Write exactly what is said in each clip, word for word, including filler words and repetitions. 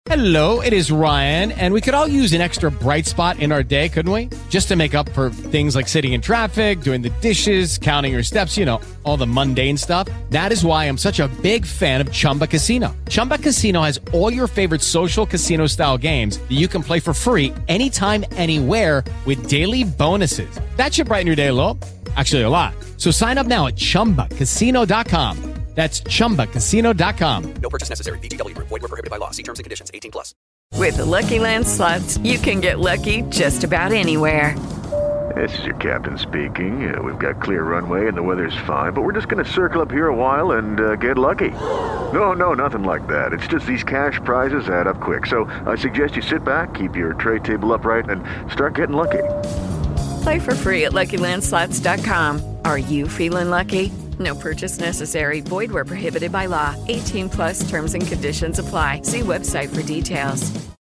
Hello, it is Ryan, and we could all use an extra bright spot in our day, couldn't we? Just to make up for things like sitting in traffic, doing the dishes, counting your steps, you know, all the mundane stuff. That is why I'm such a big fan of Chumba Casino. Chumba Casino has all your favorite social casino-style games that you can play for free anytime, anywhere with daily bonuses. That should brighten your day a little. Actually, a lot. So sign up now at chumba casino dot com. That's chumba casino dot com. No purchase necessary. V G W Group. Void where prohibited by law. See terms and conditions. eighteen plus. With the Lucky Land Slots, you can get lucky just about anywhere. This is your captain speaking. Uh, we've got clear runway and the weather's fine, but we're just going to circle up here a while and uh, get lucky. No, no, nothing like that. It's just these cash prizes add up quick. So I suggest you sit back, keep your tray table upright, and start getting lucky. Play for free at lucky land slots dot com. Are you feeling lucky? No purchase necessary. Void where prohibited by law. eighteen plus terms and conditions apply. See website for details.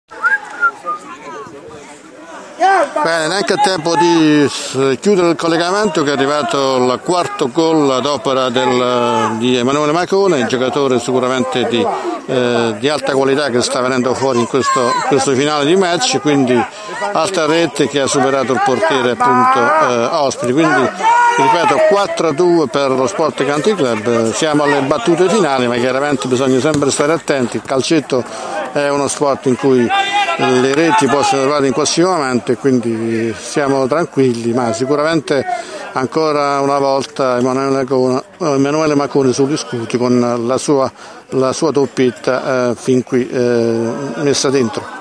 Bene, neanche il tempo di chiudere il collegamento, che è arrivato il quarto gol ad opera del, di Emanuele Macone, il giocatore sicuramente di, eh, di alta qualità che sta venendo fuori in questo, questo finale di match, quindi alta rete che ha superato il portiere appunto eh, Ospiti, quindi ripeto quattro a due per lo Sport Country Club. Siamo alle battute finali, ma chiaramente bisogna sempre stare attenti. Il calcetto è uno sport in cui le reti possono arrivare in qualsiasi momento e quindi siamo tranquilli, ma sicuramente ancora una volta Emanuele Macone, Emanuele Macone sugli scuti con la sua, la sua doppietta eh, fin qui eh, messa dentro.